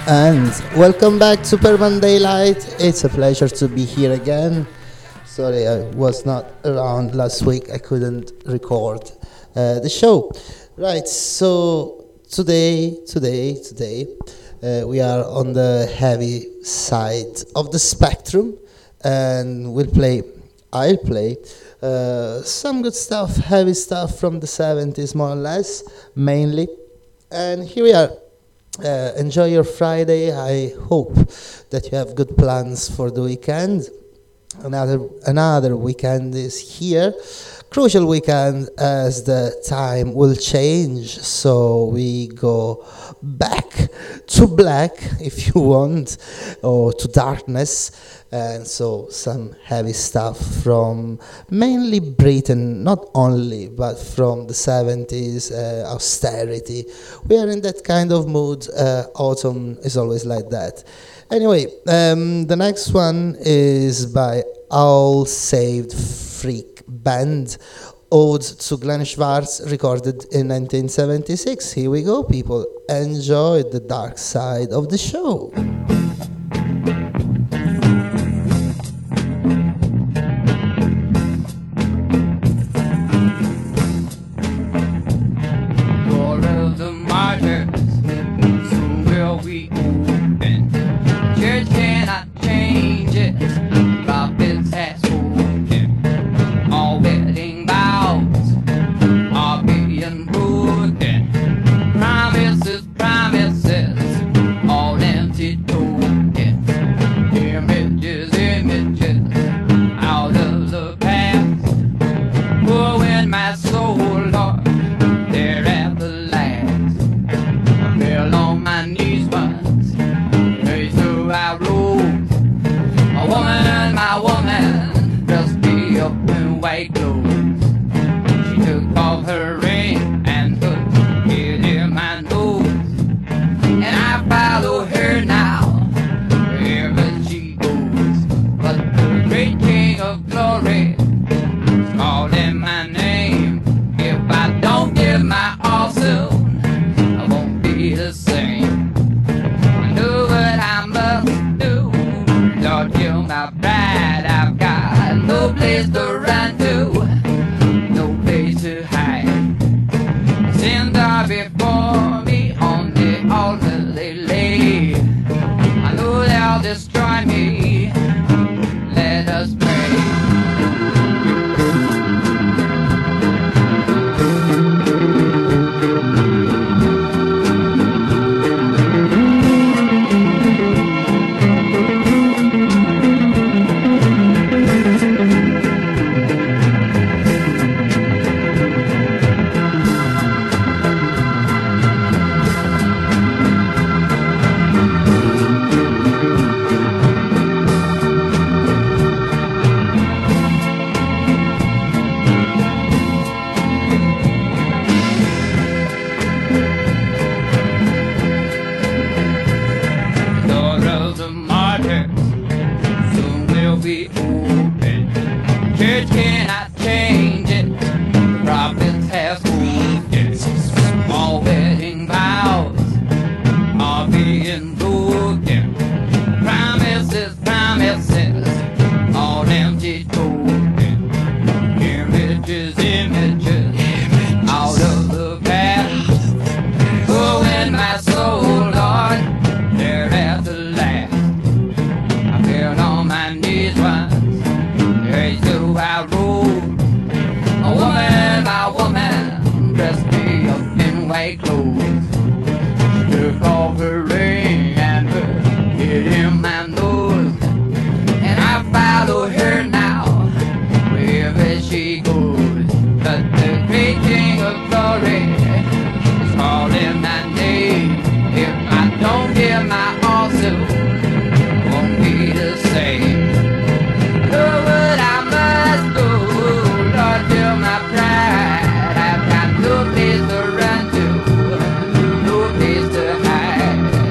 And welcome back to Permanent Daylight. It's a pleasure to be here again. Sorry, I was not around last week. I couldn't record the show. Right, so today, we are on the heavy side of the spectrum, and I'll play some good stuff, heavy stuff from the 70s, more or less, mainly. And here we are. Enjoy your Friday. I hope that you have good plans for the weekend. Another weekend is here. Crucial weekend, as the time will change, so we go back to black, if you want, or to darkness, and so some heavy stuff from mainly Britain, not only, but from the 70s, austerity. We are in that kind of mood. Autumn is always like that. Anyway, the next one is by All Saved Freak Band, Ode to Glenn Schwartz, recorded in 1976. Here we go, people. Enjoy the dark side of the show. I've got no place to run to, no place to hide.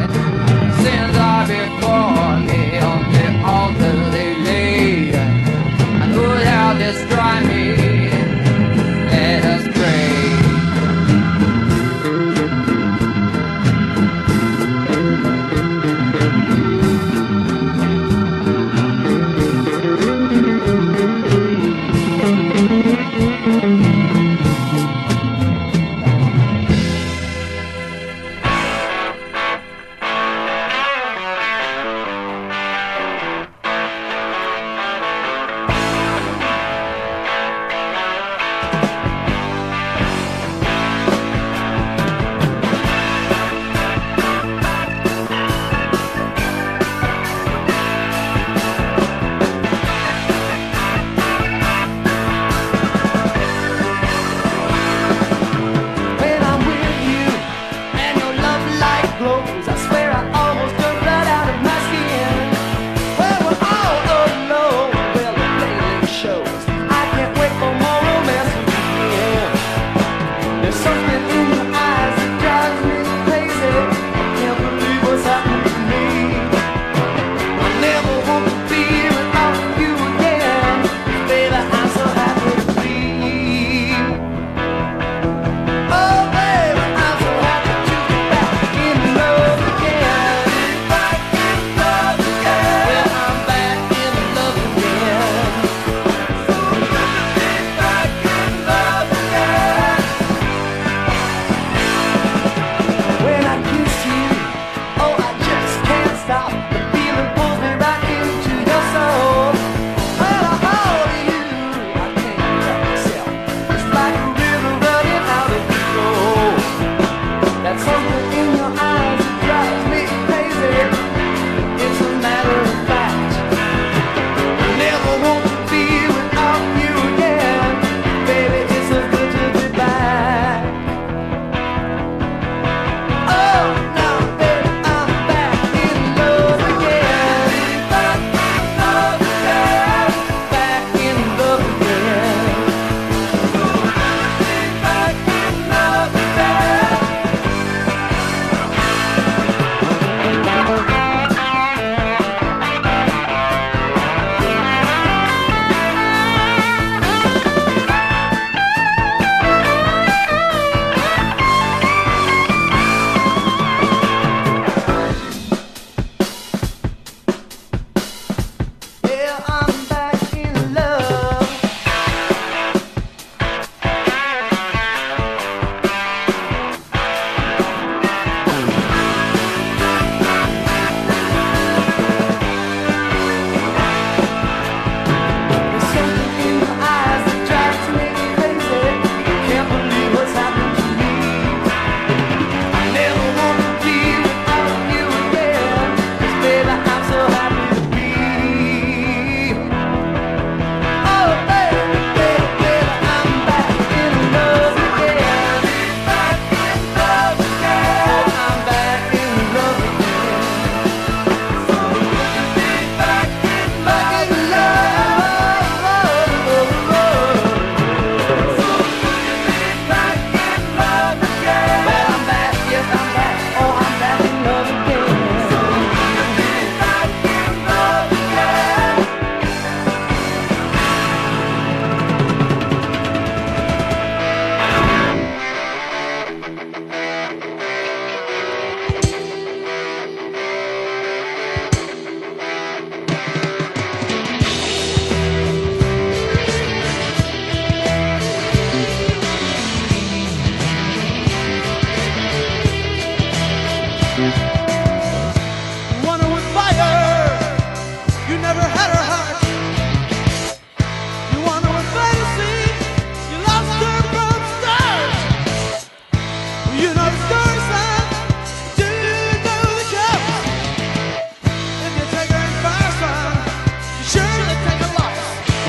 Wanted with fire, you never had her heart. You wanted with fantasy, you lost her from the start. You know the story, son. Do you know the cops? If you take her in fire, son, you surely take a loss.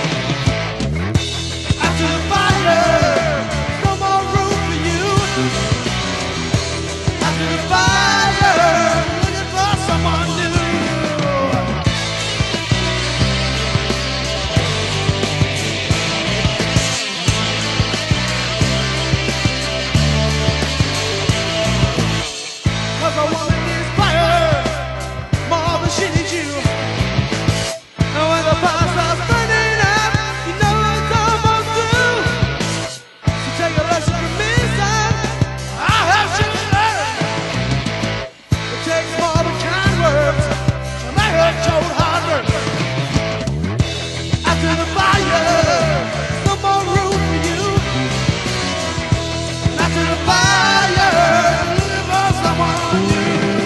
After the fire, no more room for you. After the fire, looking for someone new. Cause a woman needs fire more than she needs you. And when the fire starts burning out, you know it's almost through. So take a lesson from me, son. I have to learn. It takes more than kind words to make her cold hard work. After the fire, there's no more room for you. And after the fire, looking for someone new.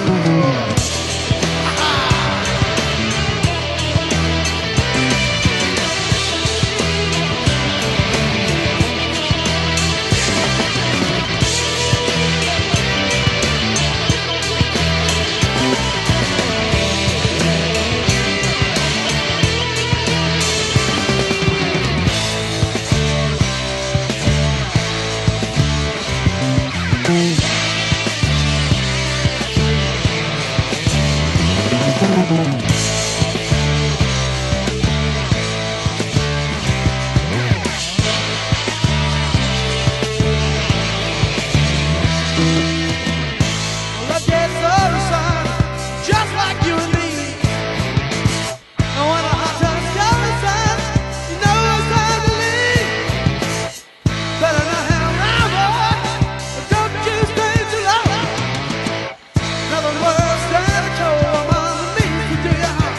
Love gets older, son, just like you and me. And when the hot times coming, son, you know it's time to leave. Better not hang around, boy, but don't you stay too long. Nothing worse than a cold woman that means to do your harm.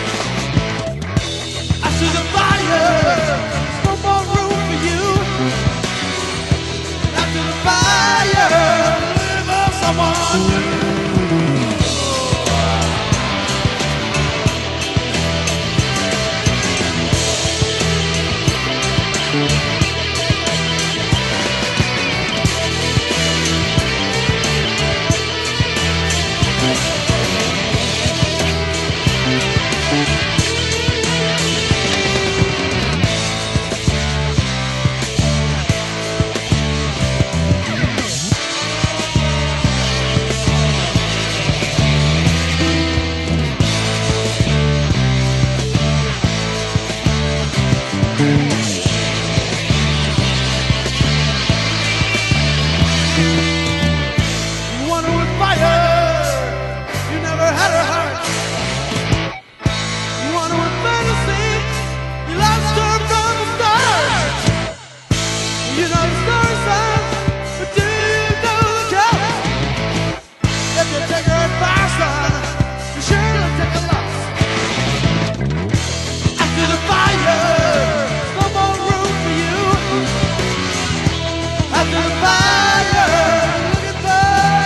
After the fire, there's no more room for you. After the fire, looking for someone new. You wanted with fire, you never had her heart. You wanted with fantasy, you lost her from the start. You know the story, son, but do you know the cost? If you take her advice, son, you surely take a loss. After the fire, no more room for you. After the fire, looking for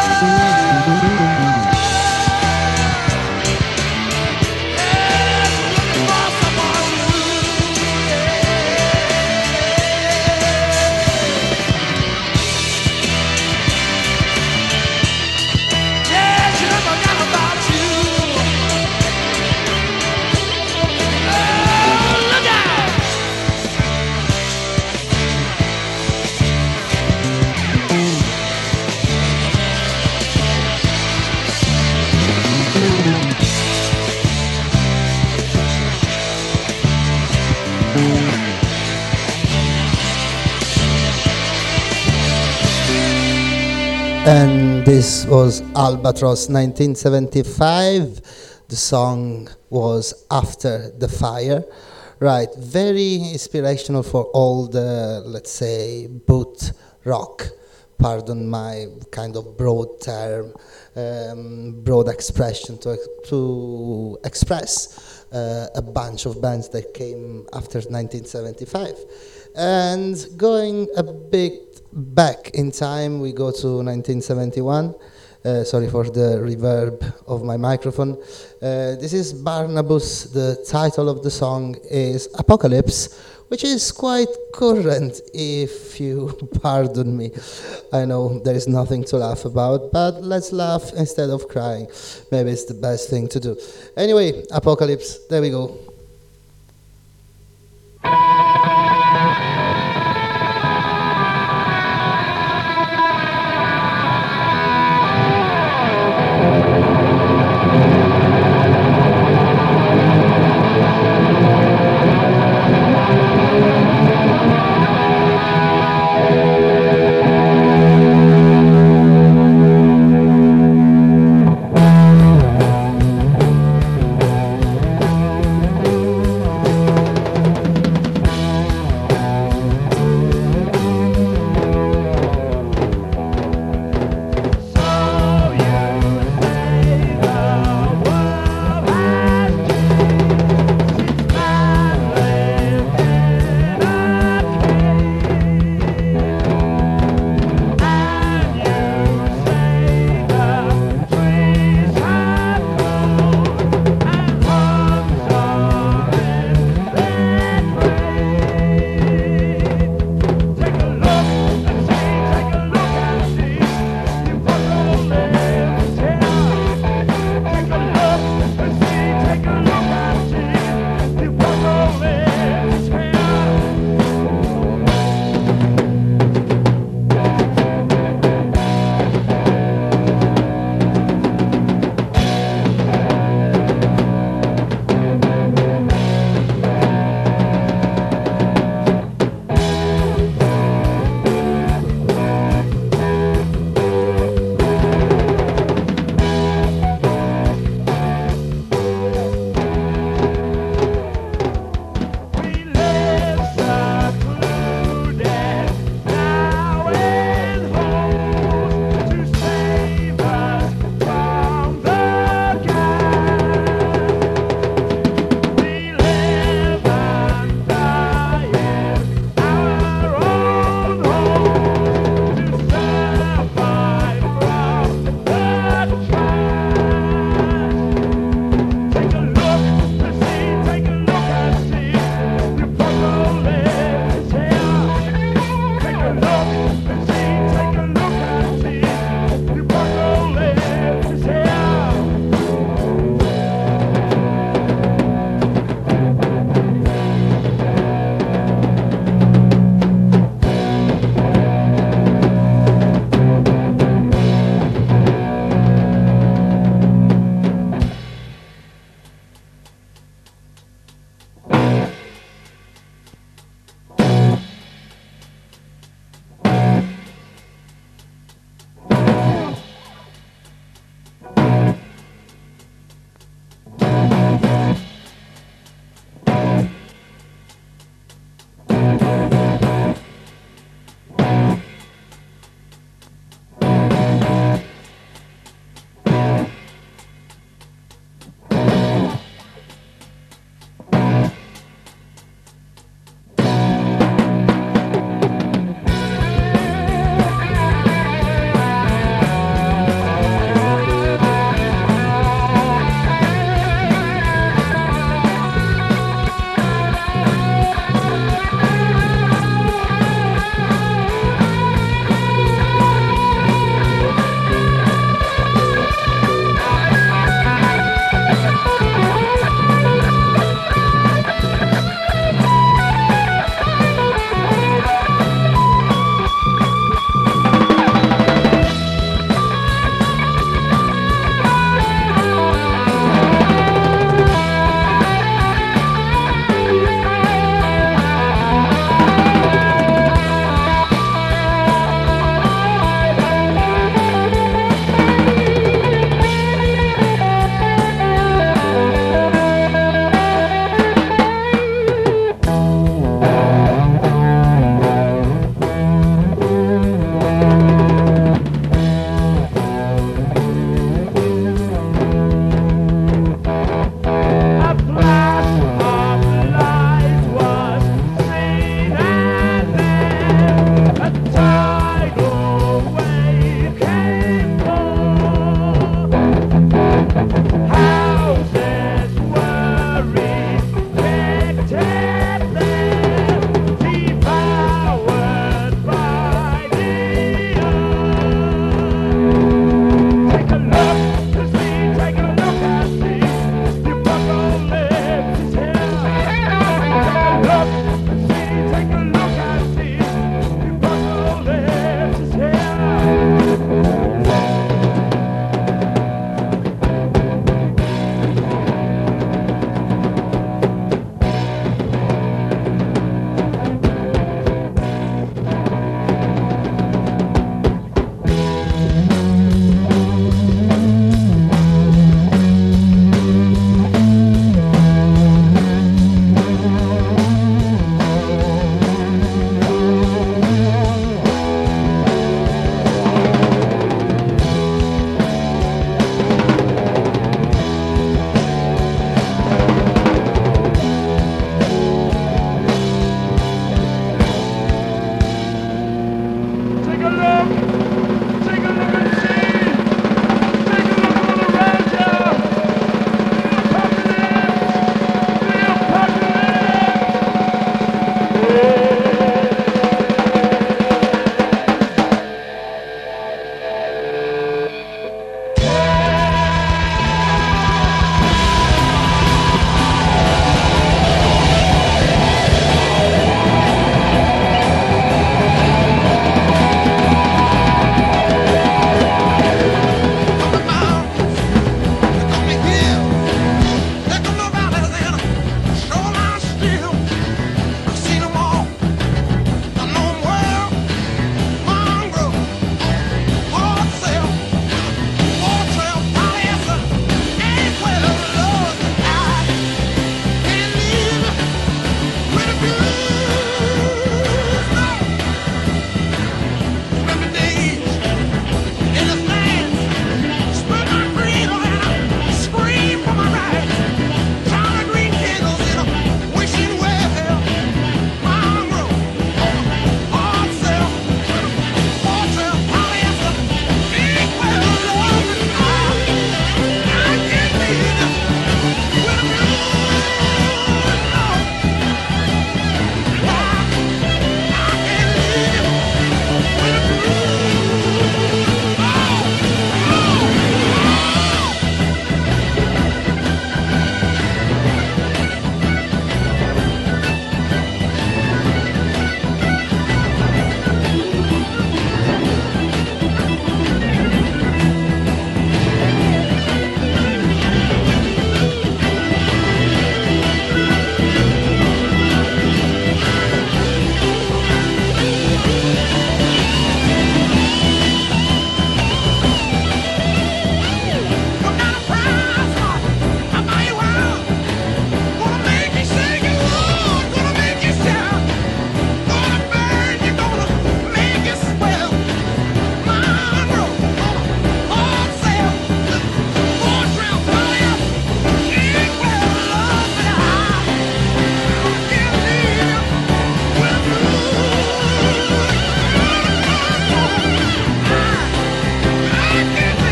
someone new. Yeah, she never forgot about you. Oh, look out! And this was Albatross 1975. The song was After the Fire. Right, very inspirational for all the, let's say, boot rock. Pardon my kind of broad term, broad expression to express a bunch of bands that came after 1975. And going a bit back in time, we go to 1971, Sorry for the reverb of my microphone. This is Barnabas. The title of the song is Apocalypse, which is quite current, if you pardon me. I know there is nothing to laugh about, but let's laugh instead of crying. Maybe it's the best thing to do. Anyway, Apocalypse, there we go.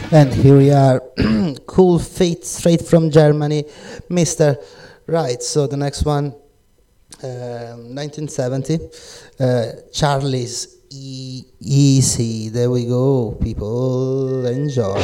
And here we are, Cool Feet, straight from Germany, Mr. Right. So the next one, 1970, Charlie's Easy. There we go, people, enjoy.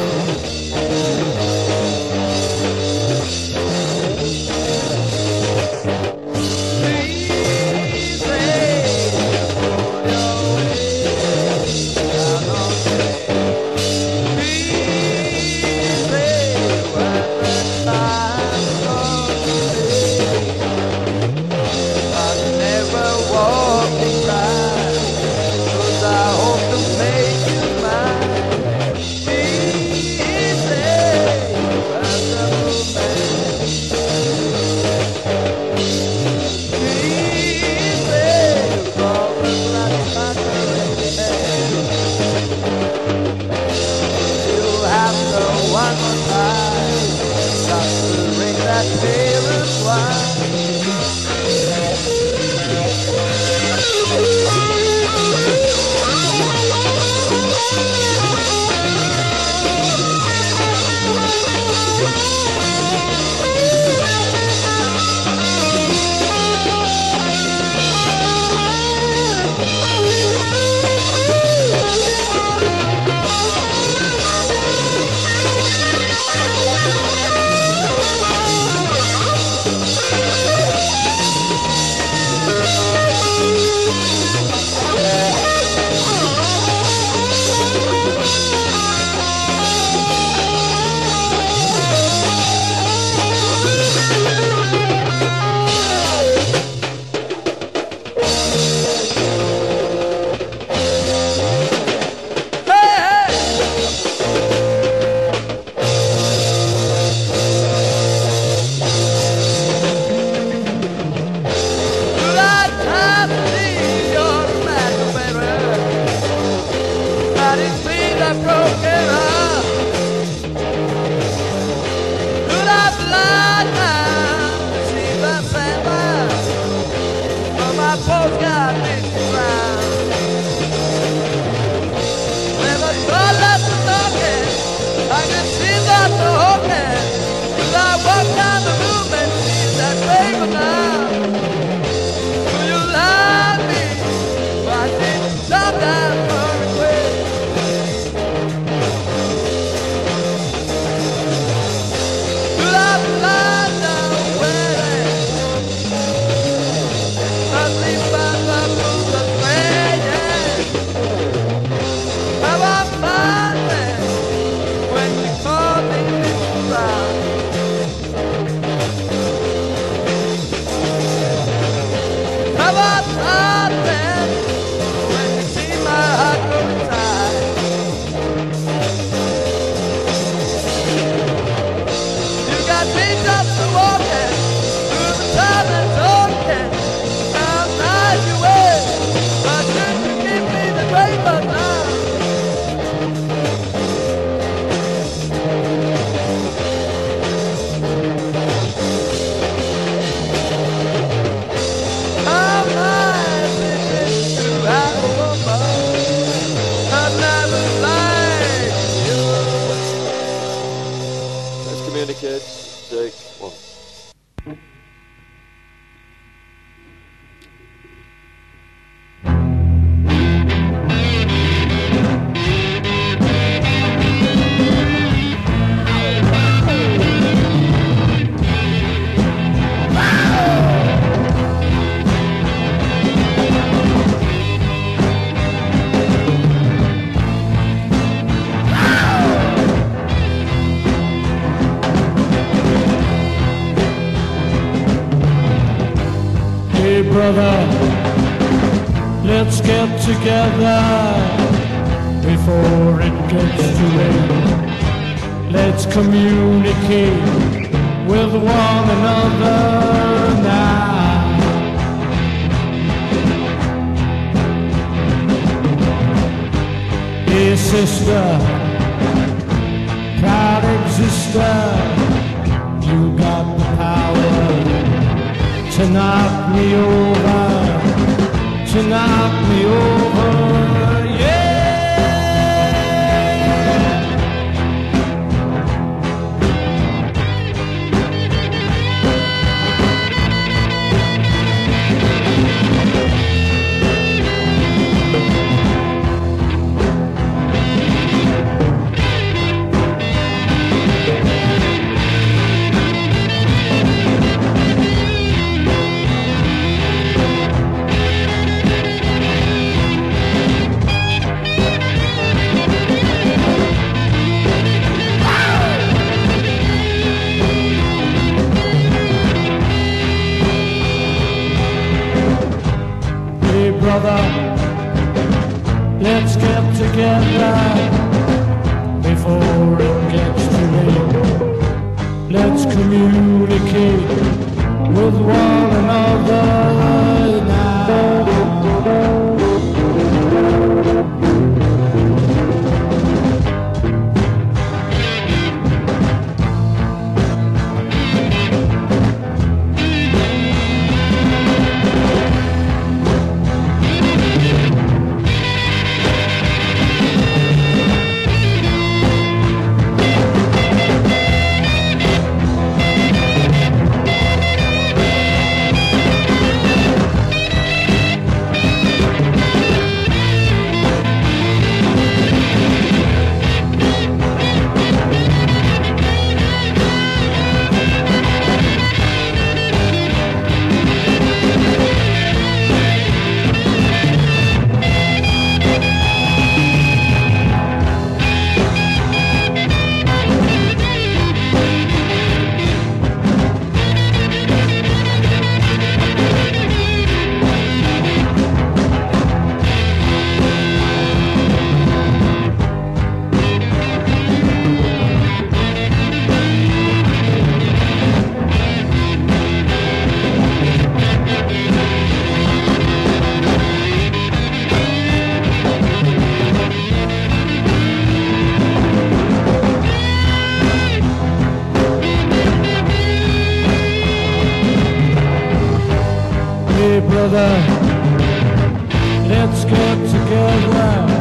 Brother, let's get together before it gets too late. Let's communicate with one another now. Hey sister, proud exister, you got the power to knock me over, to knock me over, yeah. brother, let's get together before it gets too late. Let's communicate with one another now. Brother, let's get together.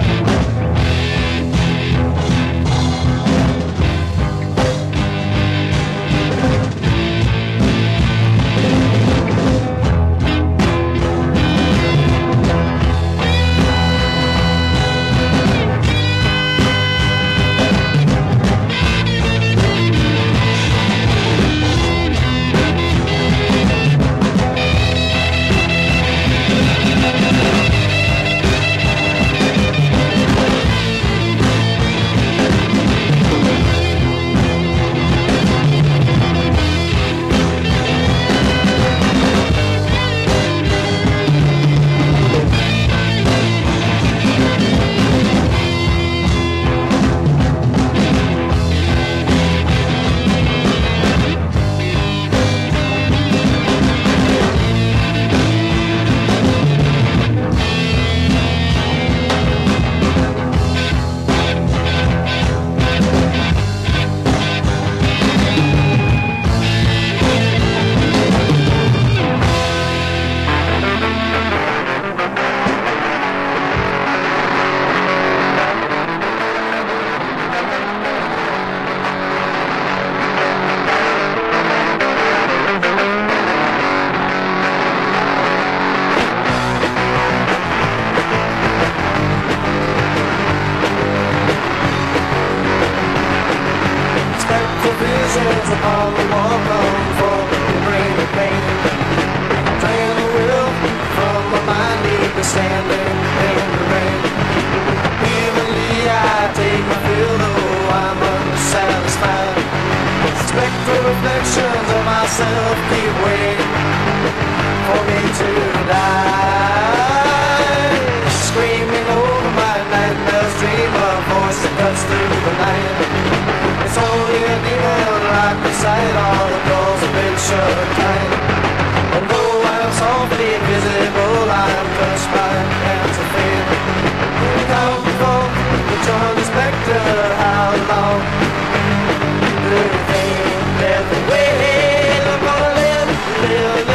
Upon the wall, come for the brain of pain. Drain the will from my mind, leave me standing in the rain. Evenly I take my fill, though I'm unsatisfied. Spectral reflections of myself keep waiting for me to die. Screaming over my nightmares, dream a voice that cuts through the night. It's only a demon like the sight, all the doors have been shut tight. And though I'm softly invisible, I'm touched by hands of fear. Come before the join the spectre, how long do you think that the way I'm gonna live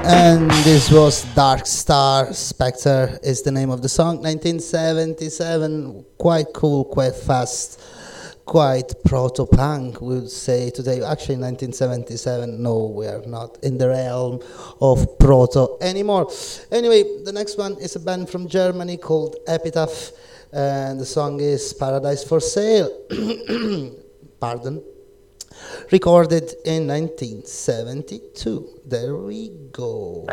And this was Dark Star. Spectre is the name of the song. 1977, quite cool, quite fast, quite proto-punk, we would say today. Actually, 1977, no, we are not in the realm of proto anymore. Anyway, the next one is a band from Germany called Epitaph, and the song is Paradise for Sale. Pardon. Recorded in 1972. There we go.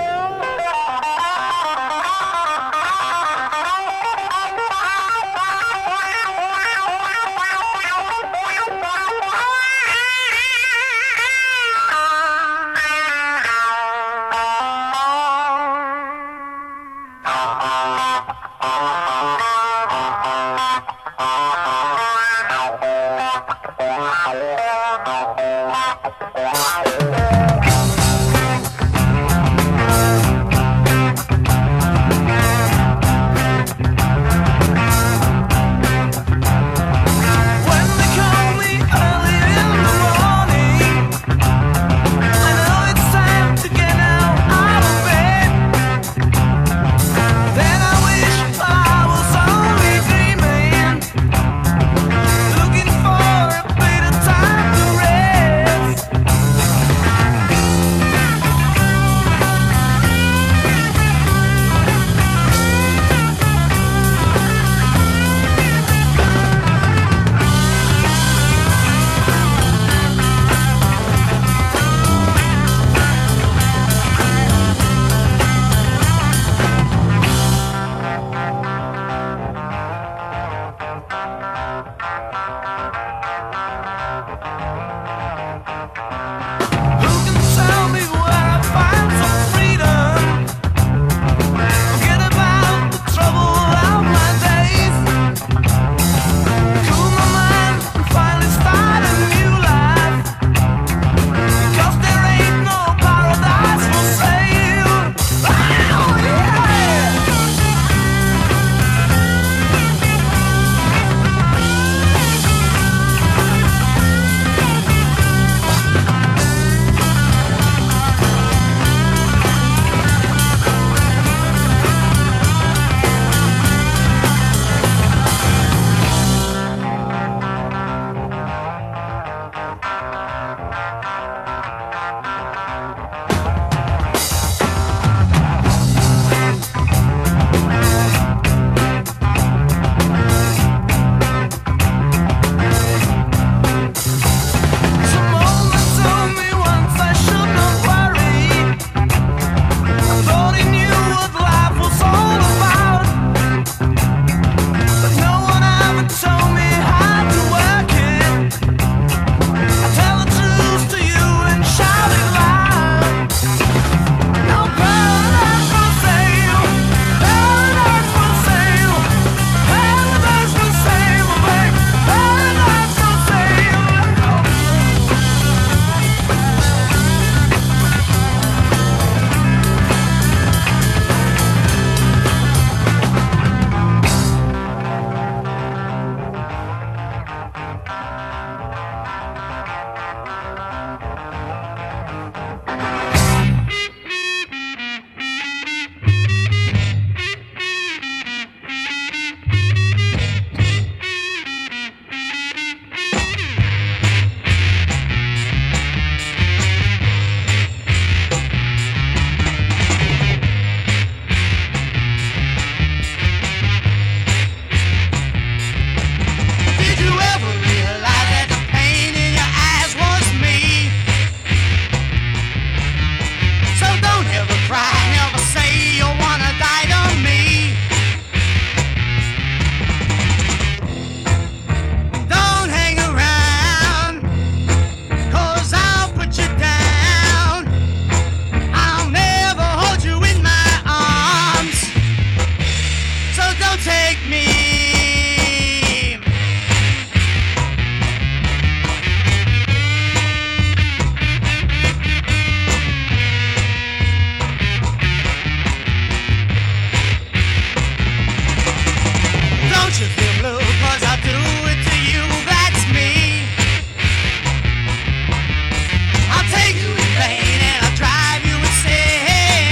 I'll take you in vain and I'll drive you insane.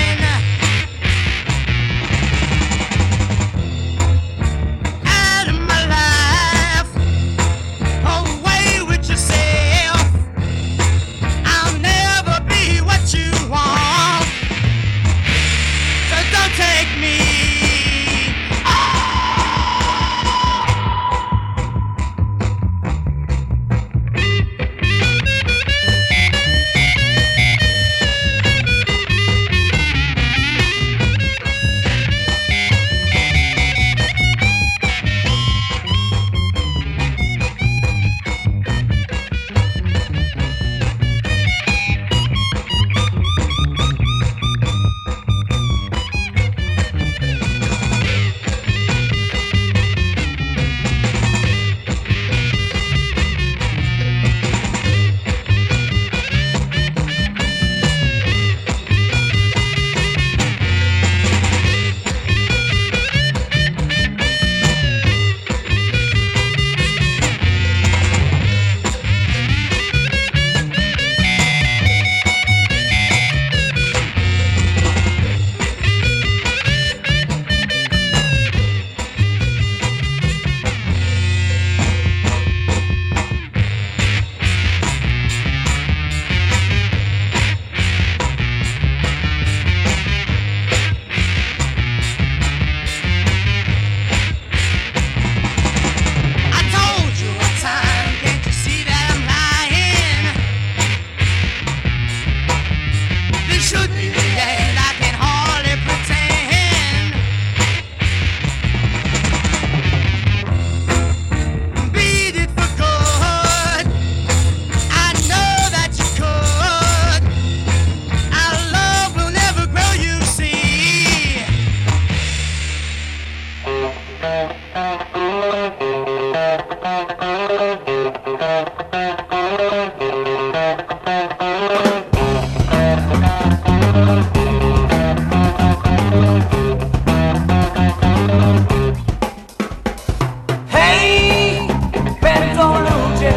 Hej, pędzą ludzie,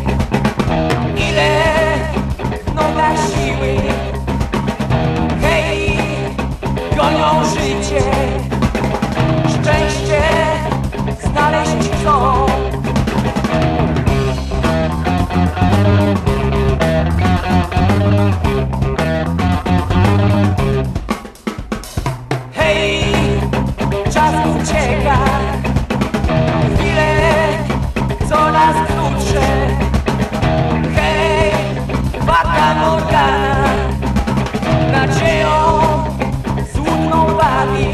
ile noga siły. Hej, gonią życie, szczęście znaleźć chcą. Hej, czas ucieka, chwile coraz krótsze. Hej, Fata Morgana, nadzieją złudną bawi.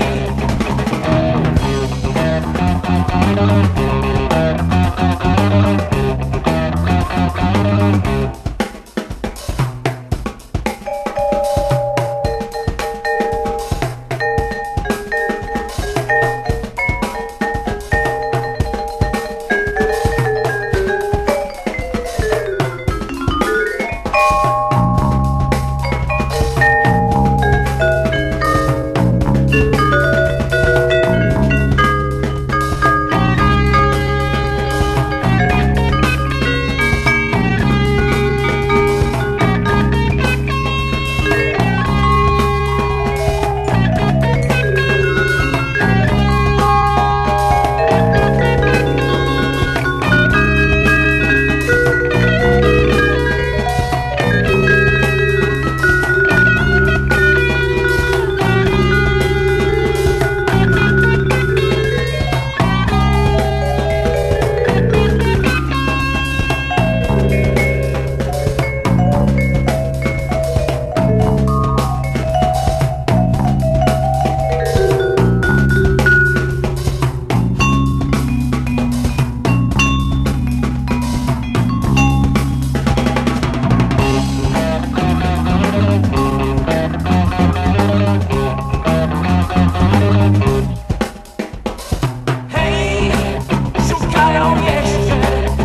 Hej, szukają jeszcze,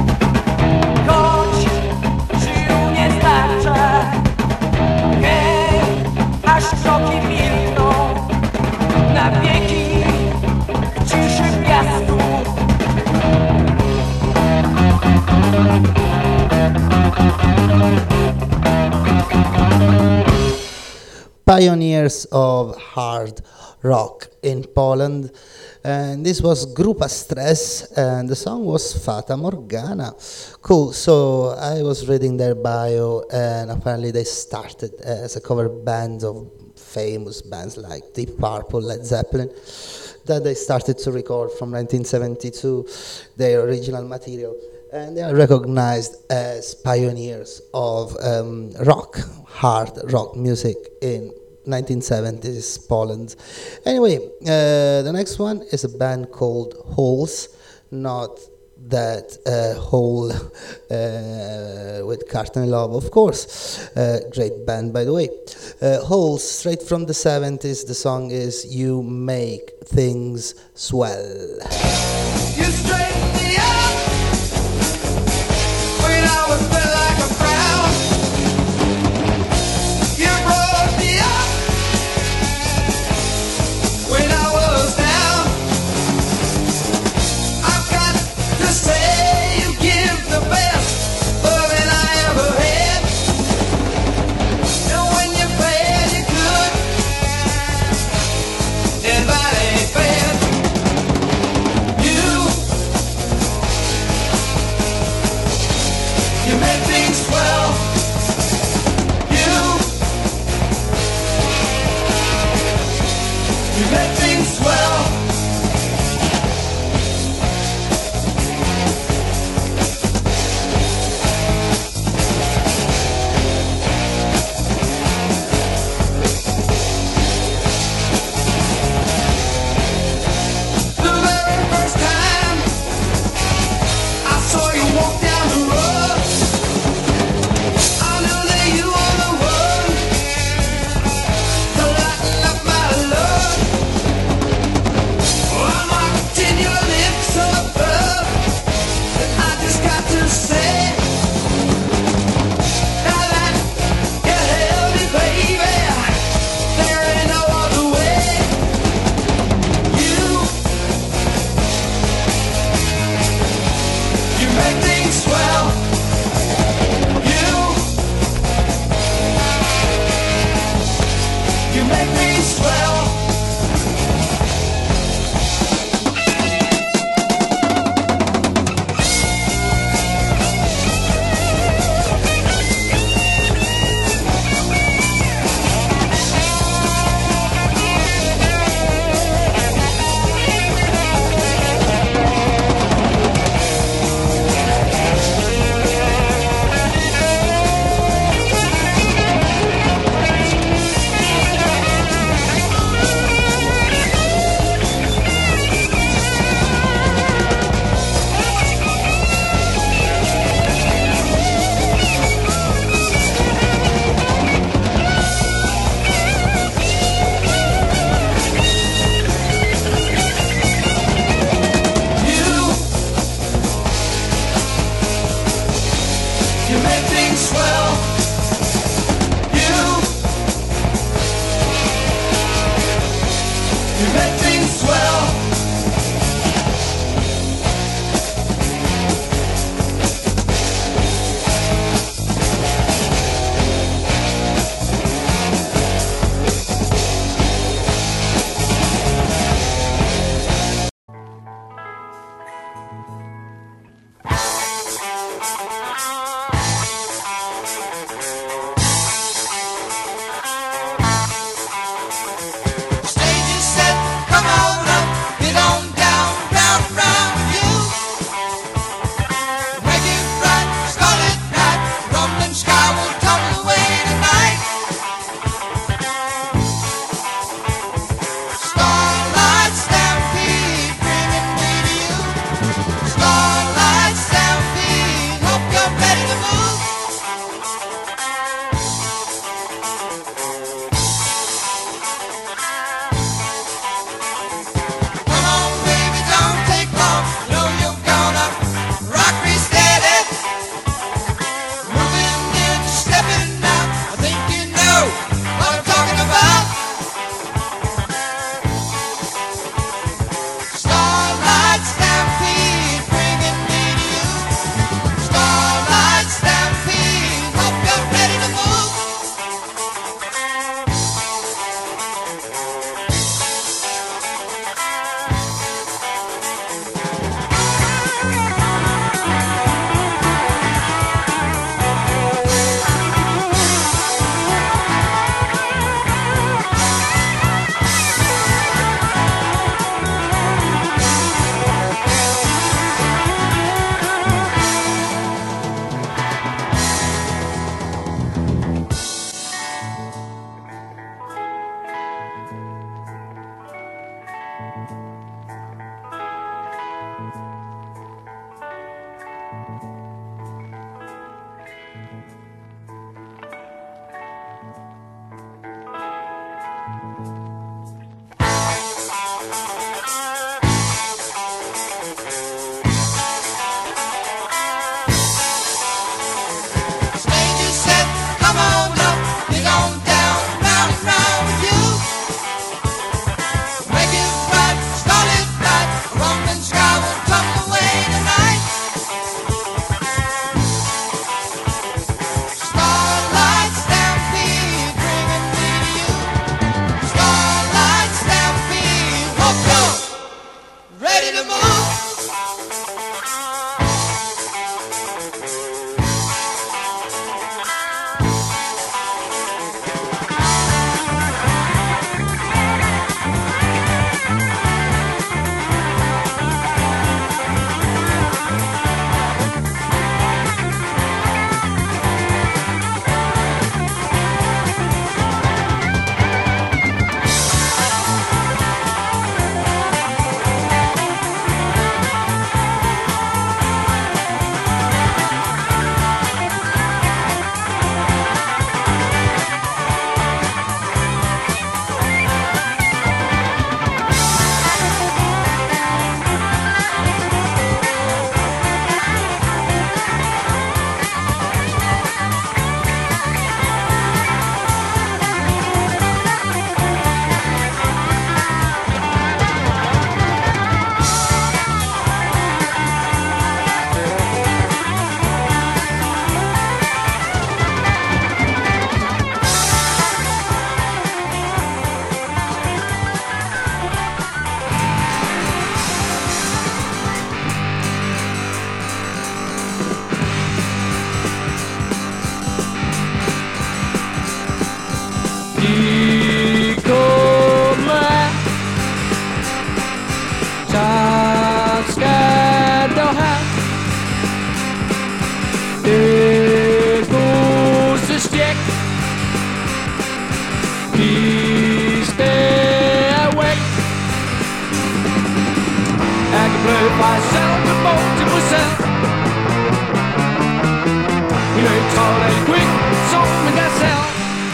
choć sił nie starcza. Hej, aż kroki milkną, na wieki w ciszy piasku. Pioneers of hard rock in Poland. And this was Grupa Stress, and the song was Fata Morgana. Cool. So I was reading their bio, and apparently they started as a cover band of famous bands like Deep Purple, Led Zeppelin. That they started to record from 1972 their original material. And they are recognized as pioneers of rock, hard rock music in 1970s Poland. Anyway, the next one is a band called Holes, not that Hole with Courtney Love, of course. Great band, by the way. Holes, straight from the 70s. The song is You Make Things Swell. You straightened me up when I was feeling like a frown. You brought me up when I was down. I've got to say you give the best loving I ever had. And when you're bad, you're good, and that ain't bad. You bleu par celle de bon Bruxelles. You know, tall and quick, so me gazelle.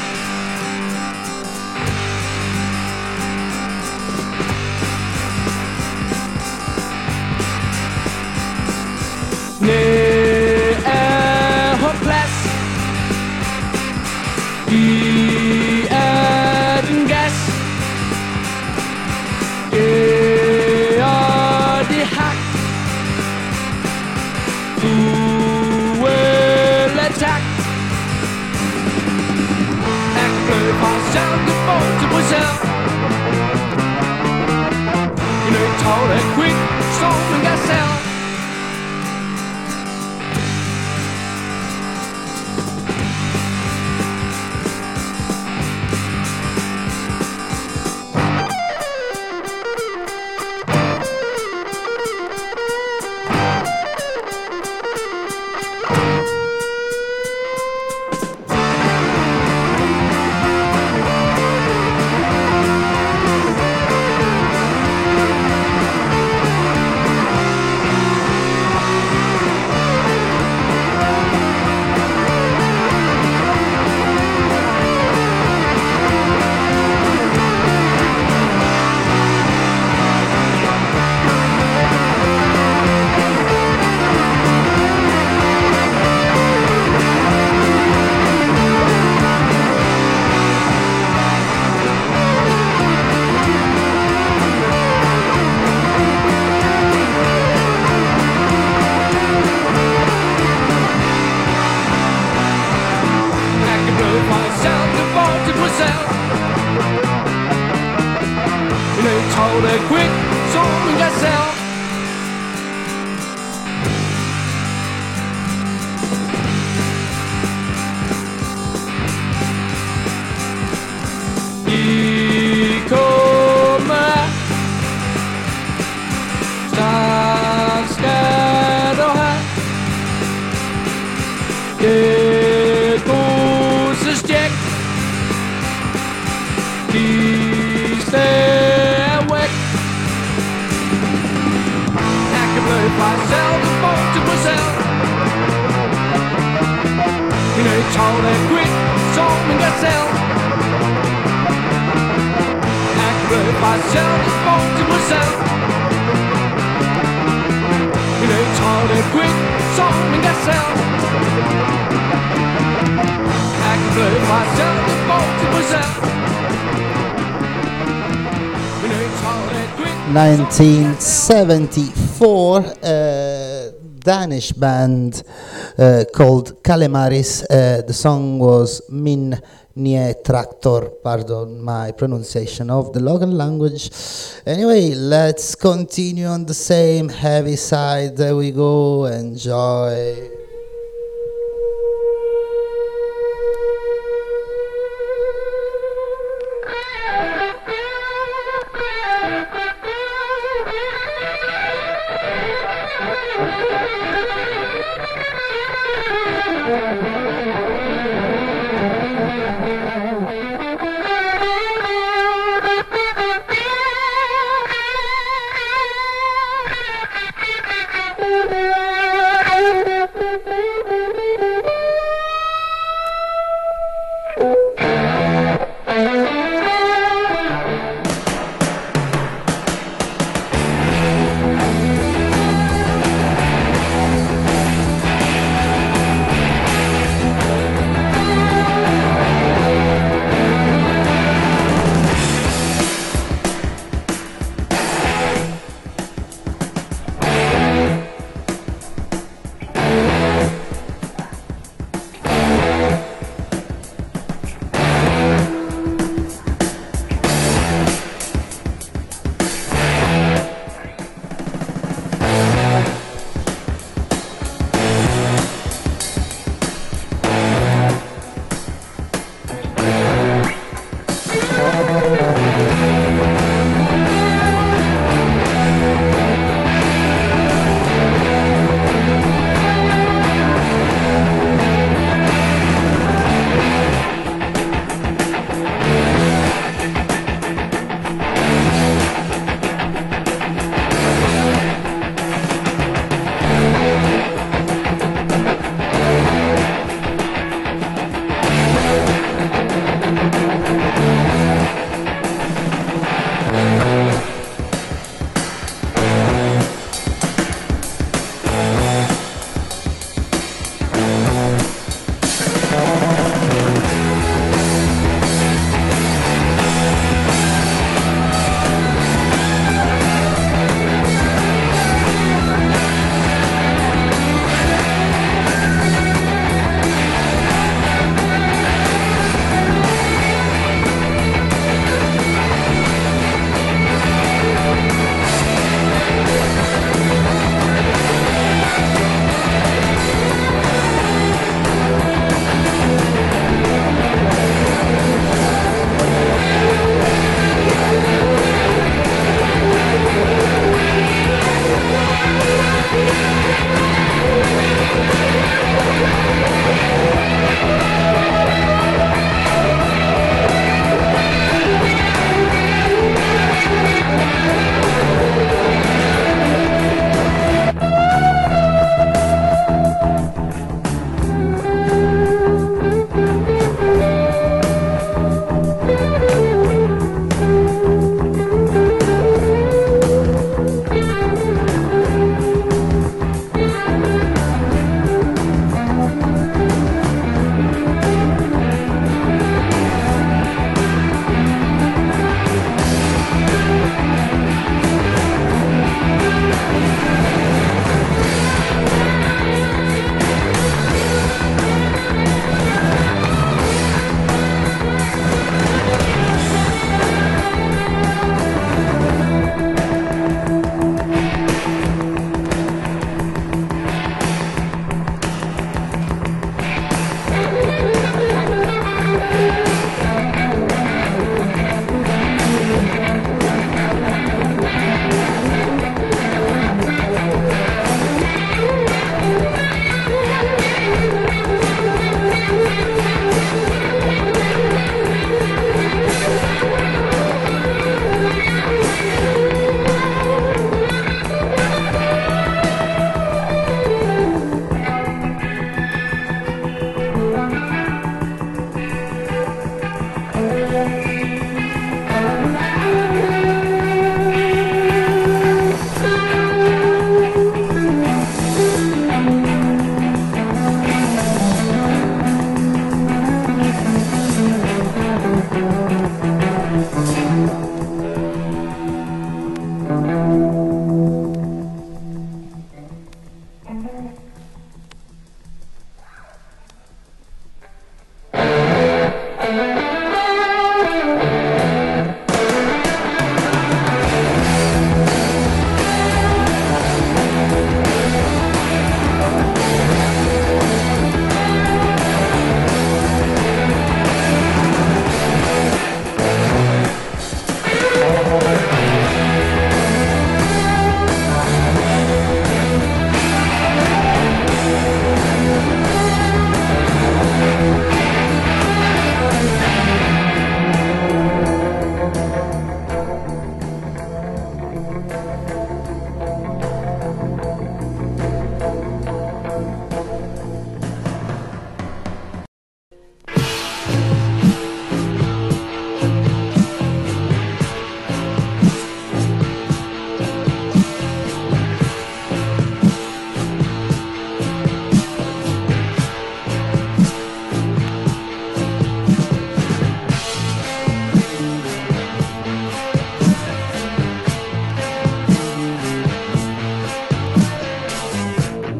Nee, hopeless. Die den gas. Ja, die hack. Du will attack. Echt bleu van zelfde boot te Bruxelles. You know, tall and quick, storm and gazelle. Quick, storm and gazelle. I kommer strax ska du här. Det kosestjäck. De stairway. By zelfde boot te Bruxelles. You know, tall and quick, storm and gazelle. Accurate by zelfde boot te Bruxelles. You know, tall and quick, storm and gazelle. Accurate by zelfde boot te Bruxelles. You know, tall and quick. 1974, Danish band called Kalemaris. The song was Min Nie Traktor, pardon my pronunciation of the local language. Anyway, let's continue on the same heavy side. There we go, enjoy.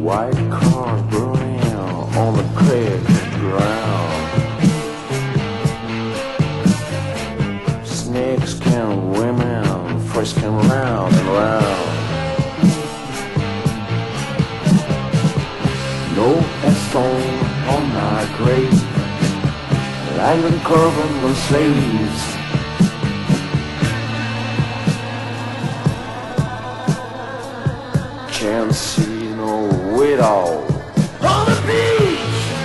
White cars burning on the creek ground. Snakes can women frisking round and round. No headstone on my grave, like the curve the slaves. Can't see no widow on the beach.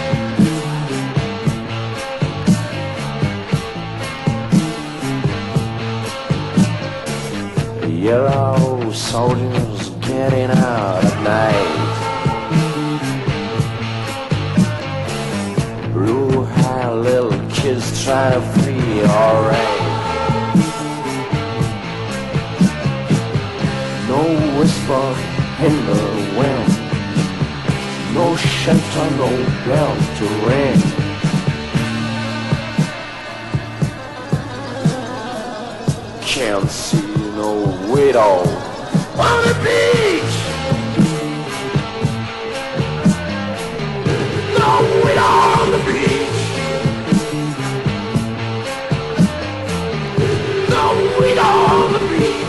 Yellow soldiers getting out at night. Blue-haired little kids try to flee, alright. No whisper in the wind, no shelter, no bell to ring. Can't see no widow on the beach. No widow on the beach. No widow on the beach.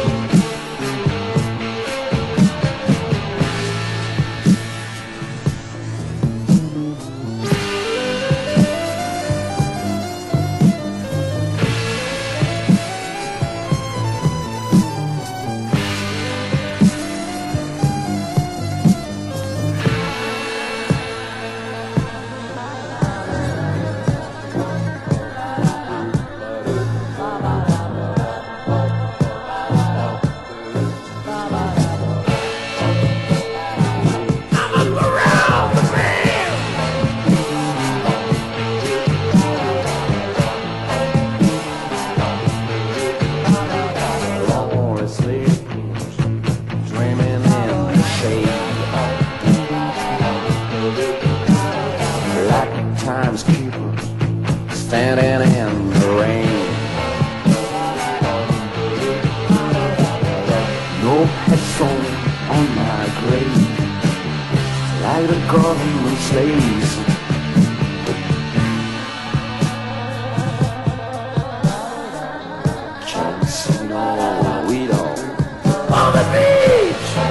Standing in the rain. No headstone on my grave, like the government slaves. Can't see no widow on the beach.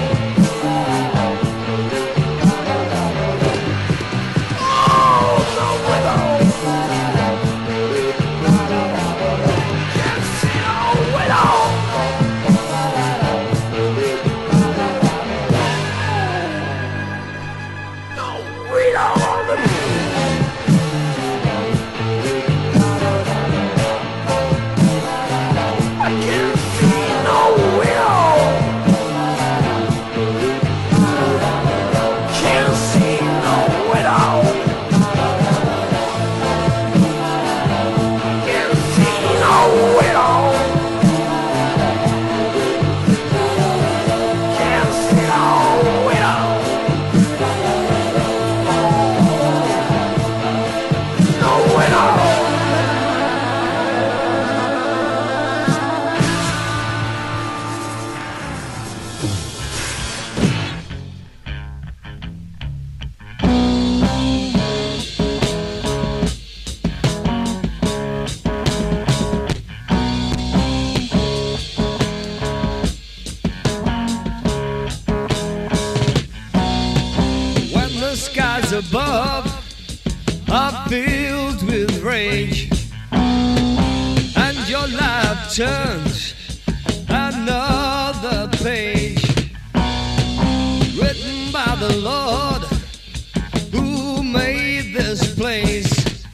Above are filled with rage, and your life turns another page, written by the Lord who made this place,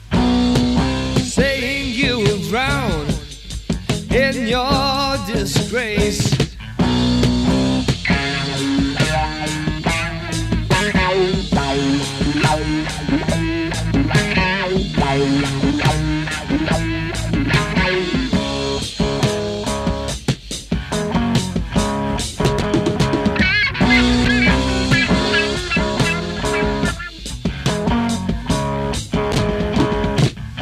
saying you will drown in your disgrace.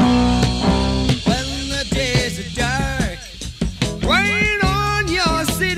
When the days are dark, rain on your city.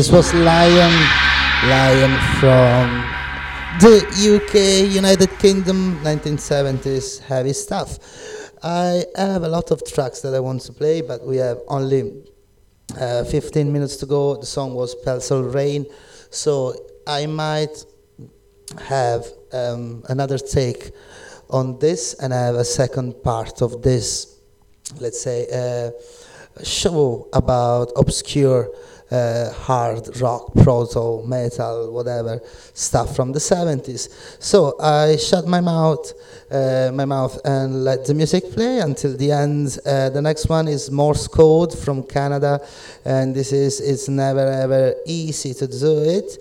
This was Lion from the UK, United Kingdom, 1970s heavy stuff. I have a lot of tracks that I want to play, but we have only 15 minutes to go. The song was Pencil Rain, so I might have another take on this, and I have a second part of this, let's say, show about obscure hard rock, proto, metal, whatever stuff from the 70s. So I shut my mouth and let the music play until the end. The next one is Morse Code from Canada, and it's never ever easy to do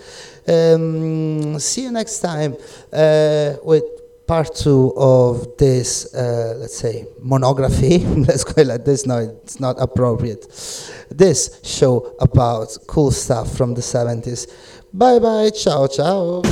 it. See you next time with part 2 of this, let's say, monography. Let's go like this. No, it's not appropriate. This show about cool stuff from the 70s. Bye bye. Ciao, ciao.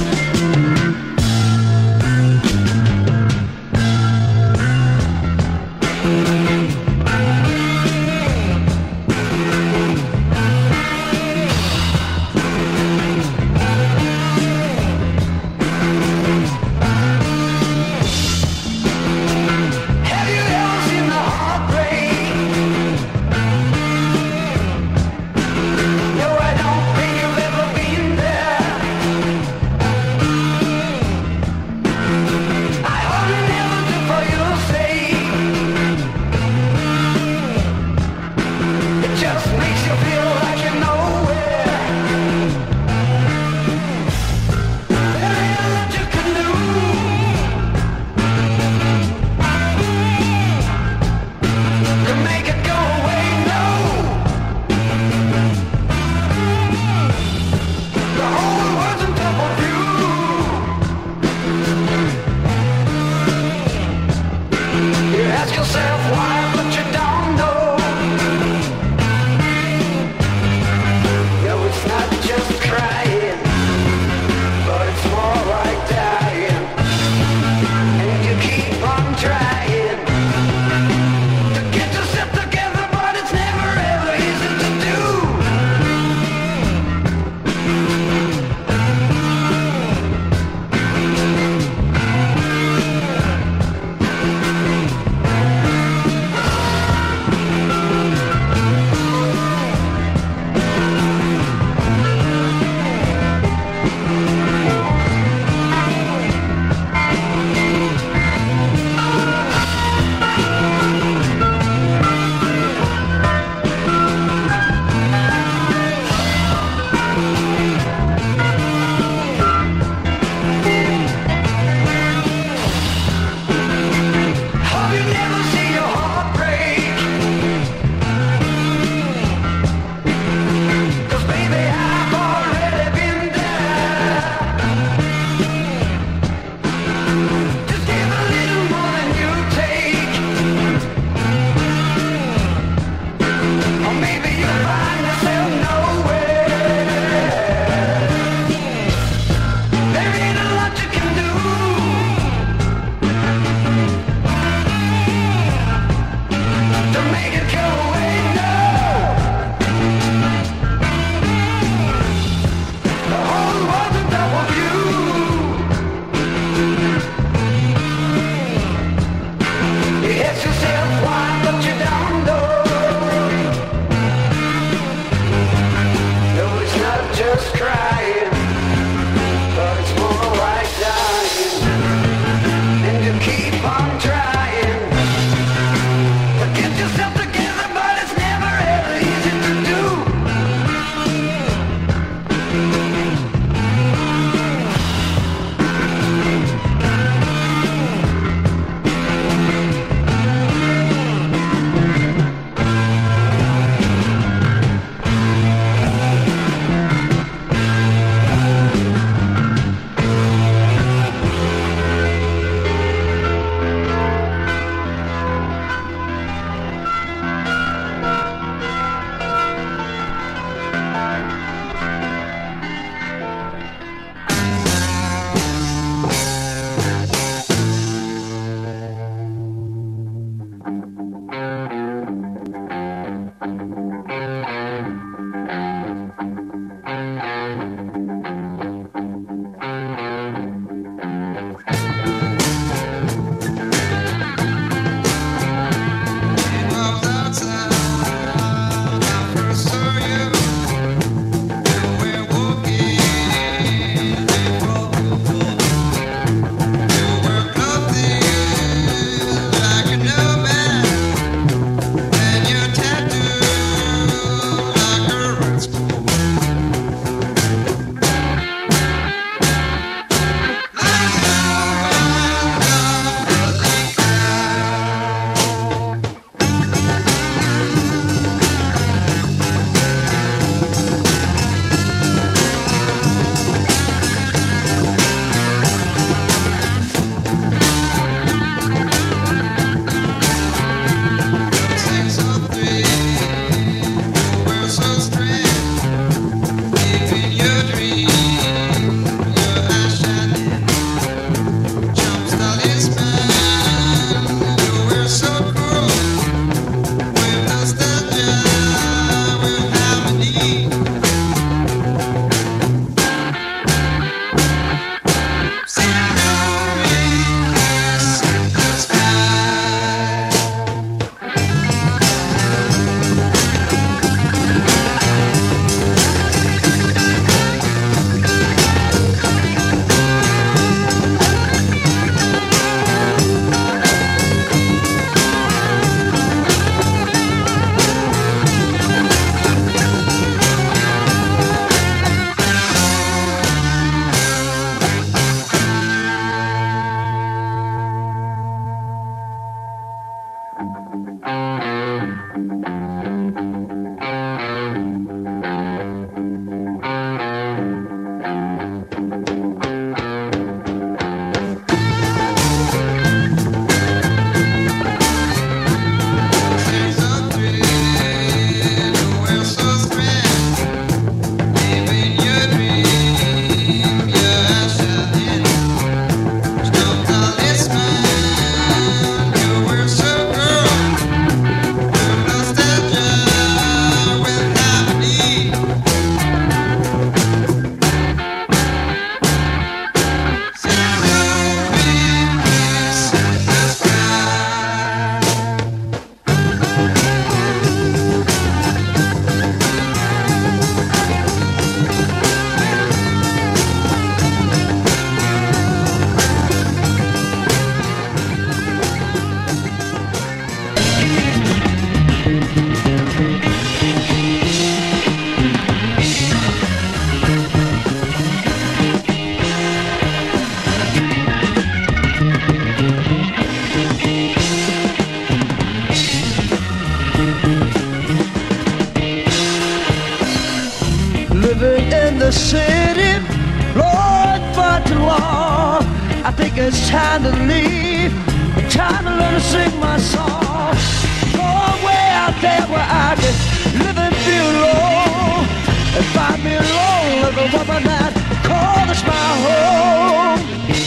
Living in the city, Lord, for too long. I think it's time to leave. Time to learn to sing my song. Go way out there where I can live and feel alone. And find me alone like a woman that call this my home.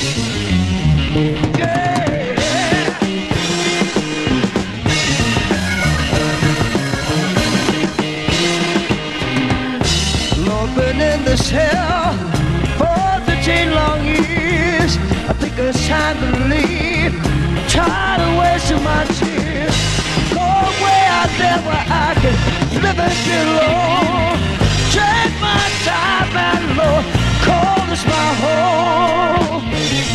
Yeah. Lord, been in this hell for 15 long years. I think it's time to leave. Tired of wasting my tears. Go way out there where I can live and feel alone. Take my time and Lord, call this my home.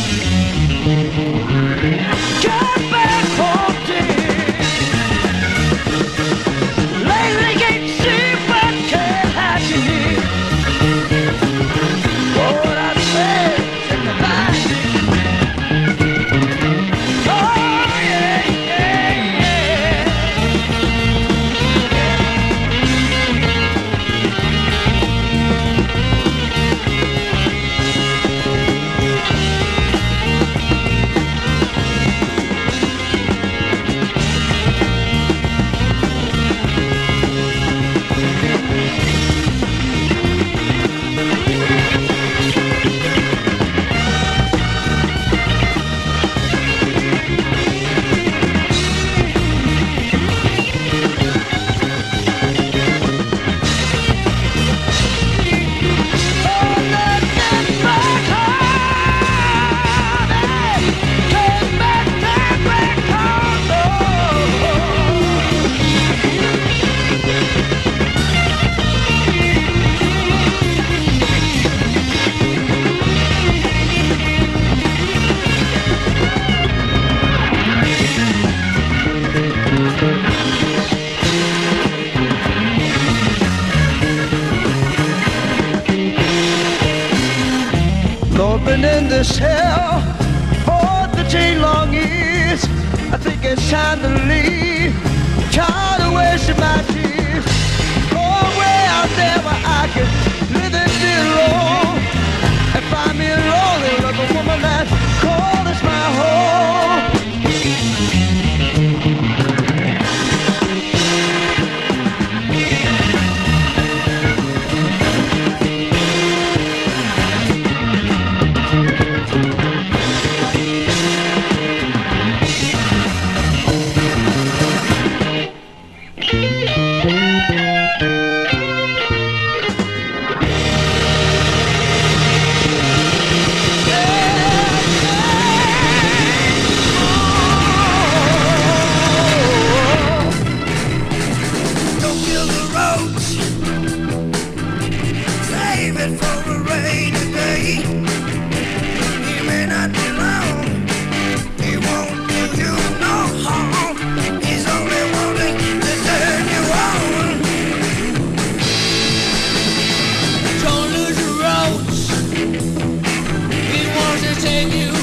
Get back home, dear. Lately can't see but can't have you here. What I said, take the line. Oh yeah, yeah, yeah. Lord, been in this hell for 13 long years. I think it's time to leave. Tired of wasting my tears. Go way out there where I can live and feel alone. And find me lonely like a woman that call this my home. Don't build a road, save it for a rainy day. He may not be long, he won't do you no harm. He's only wanting to turn you on. Don't lose your roads, he wants to take you